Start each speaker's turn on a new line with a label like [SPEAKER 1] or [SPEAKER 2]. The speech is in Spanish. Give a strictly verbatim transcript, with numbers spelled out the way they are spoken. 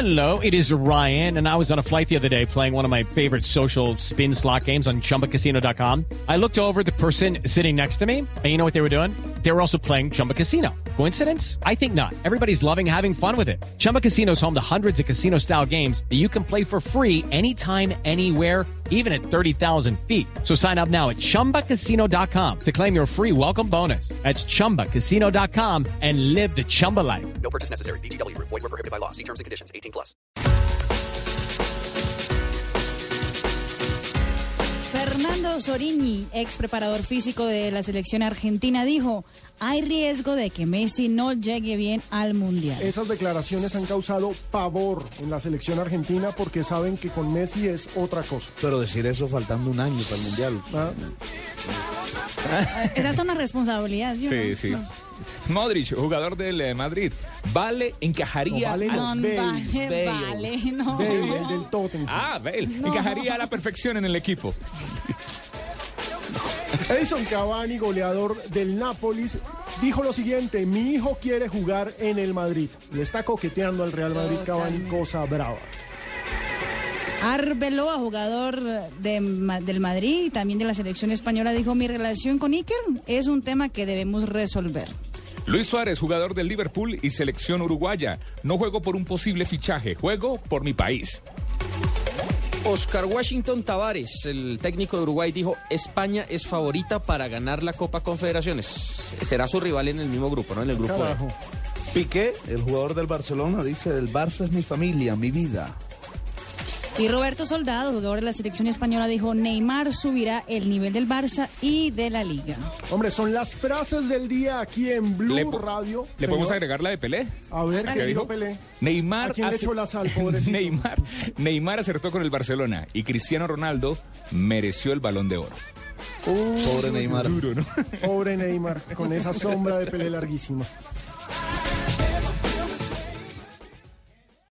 [SPEAKER 1] Hello, it is Ryan, and I was on a flight the other day playing one of my favorite social spin slot games on Chumba Casino dot com. I looked over at the person sitting next to me, and you know what they were doing? They were also playing Chumba Casino. Coincidence? I think not. Everybody's loving having fun with it. Chumba Casino is home to hundreds of casino-style games that you can play for free anytime, anywhere, even at thirty thousand feet. So sign up now at Chumba Casino dot com to claim your free welcome bonus. That's Chumba Casino dot com and live the Chumba life.
[SPEAKER 2] No purchase necessary. V G W. Void where prohibited by law. See terms and conditions. eighteen plus.
[SPEAKER 3] Fernando Sorini, ex preparador físico de la selección argentina, dijo: hay riesgo de que Messi no llegue bien al Mundial.
[SPEAKER 4] Esas declaraciones han causado pavor en la selección argentina porque saben que con Messi es otra cosa.
[SPEAKER 5] Pero decir eso faltando un año para el Mundial.
[SPEAKER 4] ¿Ah?
[SPEAKER 3] Esa es una responsabilidad, ¿sí?
[SPEAKER 6] Sí, sí.
[SPEAKER 3] No.
[SPEAKER 6] Modric, jugador del eh, Madrid, vale, encajaría...
[SPEAKER 4] No, vale,
[SPEAKER 6] al-
[SPEAKER 4] no.
[SPEAKER 3] No,
[SPEAKER 4] Bale,
[SPEAKER 3] vale,
[SPEAKER 5] Bale.
[SPEAKER 3] vale, no.
[SPEAKER 4] Bale, el del Tottenham.
[SPEAKER 6] Ah, Bale,
[SPEAKER 3] No.
[SPEAKER 6] encajaría a la perfección en el equipo.
[SPEAKER 4] Edison Cavani, goleador del Nápoles, dijo lo siguiente: mi hijo quiere jugar en el Madrid. Le está coqueteando al Real Madrid Cavani, cosa brava.
[SPEAKER 3] Arbeloa, jugador de, del Madrid y también de la selección española, dijo: mi relación con Iker es un tema que debemos resolver.
[SPEAKER 6] Luis Suárez, jugador del Liverpool y selección uruguaya, no juego por un posible fichaje, juego por mi país.
[SPEAKER 7] Oscar Washington Tavares, el técnico de Uruguay, dijo: España es favorita para ganar la Copa Confederaciones. Será su rival en el mismo grupo, ¿no? En el grupo E.
[SPEAKER 4] Carajo.
[SPEAKER 5] Piqué, el jugador del Barcelona, dice: el Barça es mi familia, mi vida.
[SPEAKER 3] Y Roberto Soldado, jugador de la selección española, dijo: Neymar subirá el nivel del Barça y de la Liga.
[SPEAKER 4] Hombre, son las frases del día aquí en Blue
[SPEAKER 6] ¿Le po-
[SPEAKER 4] Radio.
[SPEAKER 6] ¿Le podemos
[SPEAKER 4] Señor,
[SPEAKER 6] agregar la de Pelé?
[SPEAKER 4] A ver,
[SPEAKER 3] ¿Qué
[SPEAKER 4] ¿qué dijo
[SPEAKER 6] dijo?
[SPEAKER 4] Pelé?
[SPEAKER 6] Neymar,
[SPEAKER 4] ¿A quién le
[SPEAKER 6] hace-
[SPEAKER 4] echó la sal, pobrecito?
[SPEAKER 6] Neymar, Neymar acertó con el Barcelona y Cristiano Ronaldo mereció el Balón de Oro.
[SPEAKER 4] Uy,
[SPEAKER 5] Pobre Neymar.
[SPEAKER 4] Pobre Neymar, con esa sombra de Pelé larguísima.